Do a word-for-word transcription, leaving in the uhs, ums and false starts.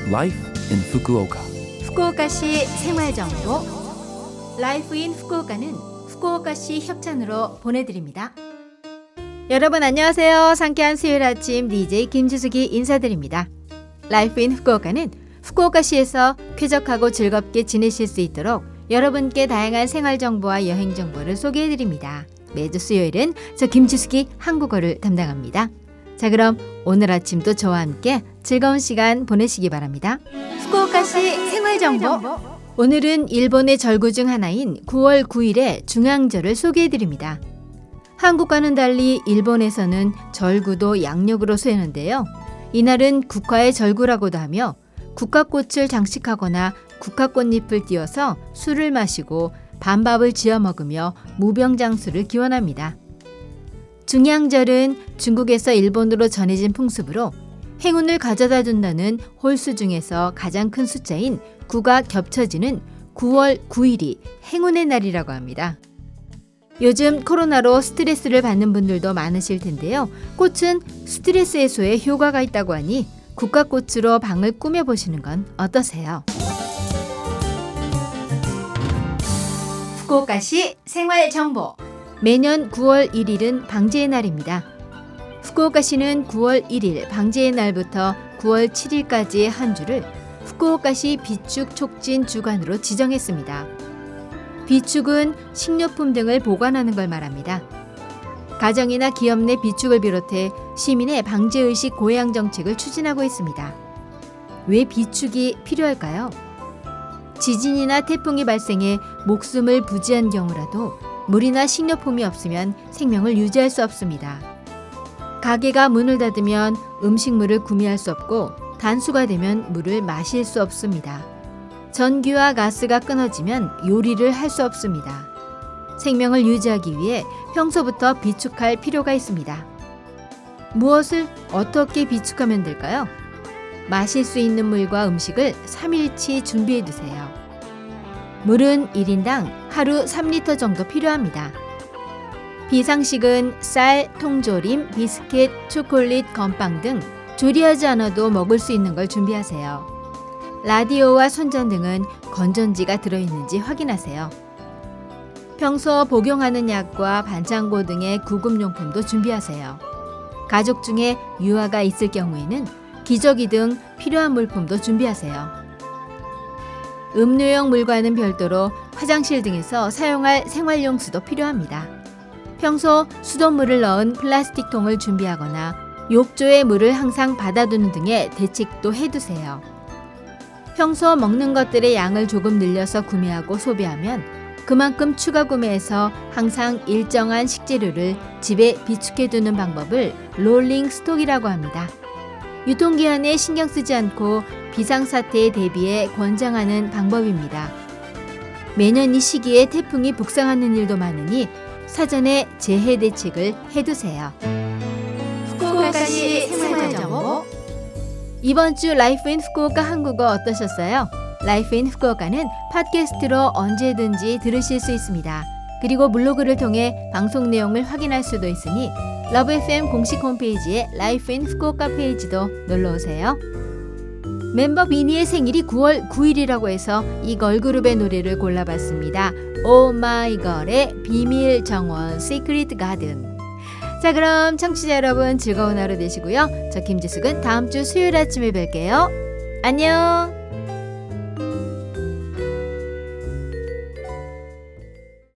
Life in Fukuoka. 후쿠오카시 생활정보 라이프 인 후쿠오카는 후쿠오카시 협찬으로 보내드립니다. 여러분 안녕하세요. 상쾌한 수요일 아침 디제이 김주숙이 인사드립니다. 라이프 인 후쿠오카는 후쿠오카시에서 쾌적하고 즐겁게 지내실 수 있도록 여러분께 다양한 생활정보와 여행정보를 소개해드립니다. 매주 수요일은 저 김주숙이 한국어를 담당합니다. 자, 그럼 오늘 아침도 저와 함께 즐거운 시간 보내시기 바랍니다. 후쿠오카시 생활정보. 오늘은 일본의 절구 중 하나인 구월 구일의 중앙절을 소개해드립니다. 한국과는 달리 일본에서는 절구도 양력으로 세우는데요. 이날은 국화의 절구라고도 하며 국화꽃을 장식하거나 국화꽃잎을 띄워서 술을 마시고 반밥을 지어 먹으며 무병장수를 기원합니다. 중양절은 중국에서 일본으로 전해진 풍습으로 행운을 가져다 준다는 홀수 중에서 가장 큰 숫자인 구가 겹쳐지는 구월 구일이 행운의 날이라고 합니다. 요즘 코로나로 스트레스를 받는 분들도 많으실 텐데요. 꽃은 스트레스 해소에 효과가 있다고 하니 국화꽃으로 방을 꾸며보시는 건 어떠세요? 후쿠오카시 생활정보. 매년 구월 일일은 방제의 날입니다. 후쿠오카시는 구월 일일 방제의 날부터 구월 칠일까지의 한 주를 후쿠오카시 비축 촉진 주간으로 지정했습니다. 비축은 식료품 등을 보관하는 걸 말합니다. 가정이나 기업 내 비축을 비롯해 시민의 방제의식 고양 정책을 추진하고 있습니다. 왜 비축이 필요할까요? 지진이나 태풍이 발생해 목숨을 부지한 경우라도 물이나 식료품이 없으면 생명을 유지할 수 없습니다. 가게가 문을 닫으면 음식물을 구매할 수 없고 단수가 되면 물을 마실 수 없습니다. 전기와 가스가 끊어지면 요리를 할 수 없습니다. 생명을 유지하기 위해 평소부터 비축할 필요가 있습니다. 무엇을 어떻게 비축하면 될까요? 마실 수 있는 물과 음식을 삼일치 준비해 두세요. 물은 일 인당 하루 삼 리터 정도 필요합니다. 비상식은 쌀, 통조림, 비스킷, 초콜릿, 건빵 등 조리하지 않아도 먹을 수 있는 걸 준비하세요. 라디오와 손전등은 건전지가 들어있는지 확인하세요. 평소 복용하는 약과 반창고 등의 구급용품도 준비하세요. 가족 중에 유아가 있을 경우에는 기저귀 등 필요한 물품도 준비하세요. 음료용 물과는 별도로 화장실 등에서 사용할 생활용 수도 필요합니다. 평소 수돗물을 넣은 플라스틱 통을 준비하거나 욕조에 물을 항상 받아두는 등의 대책도 해두세요. 평소 먹는 것들의 양을 조금 늘려서 구매하고 소비하면 그만큼 추가 구매해서 항상 일정한 식재료를 집에 비축해두는 방법을 롤링 스톡이라고 합니다. 유통기한에 신경 쓰지 않고 비상사태에 대비해 권장하는 방법입니다. 매년 이 시기에 태풍이 북상하는 일도 많으니 사전에 재해 대책을 해두세요. 후쿠오카시 생활정보. 이번 주 라이프 인 후쿠오카 한국어 어떠셨어요? 라이프 인 후쿠오카는 팟캐스트로 언제든지 들으실 수 있습니다. 그리고 블로그를 통해 방송 내용을 확인할 수도 있으니 러브 에프엠 공식 홈페이지에 라이프 인 후쿠오카 페이지도 놀러오세요. 멤버 비니의 생일이 구월 구일이라고 해서 이 걸그룹의 노래를 골라봤습니다. 오마이걸의 비밀 정원 시크릿 가든. 자, 그럼 청취자 여러분 즐거운 하루 되시고요. 저 김지숙은 다음 주 수요일 아침에 뵐게요. 안녕.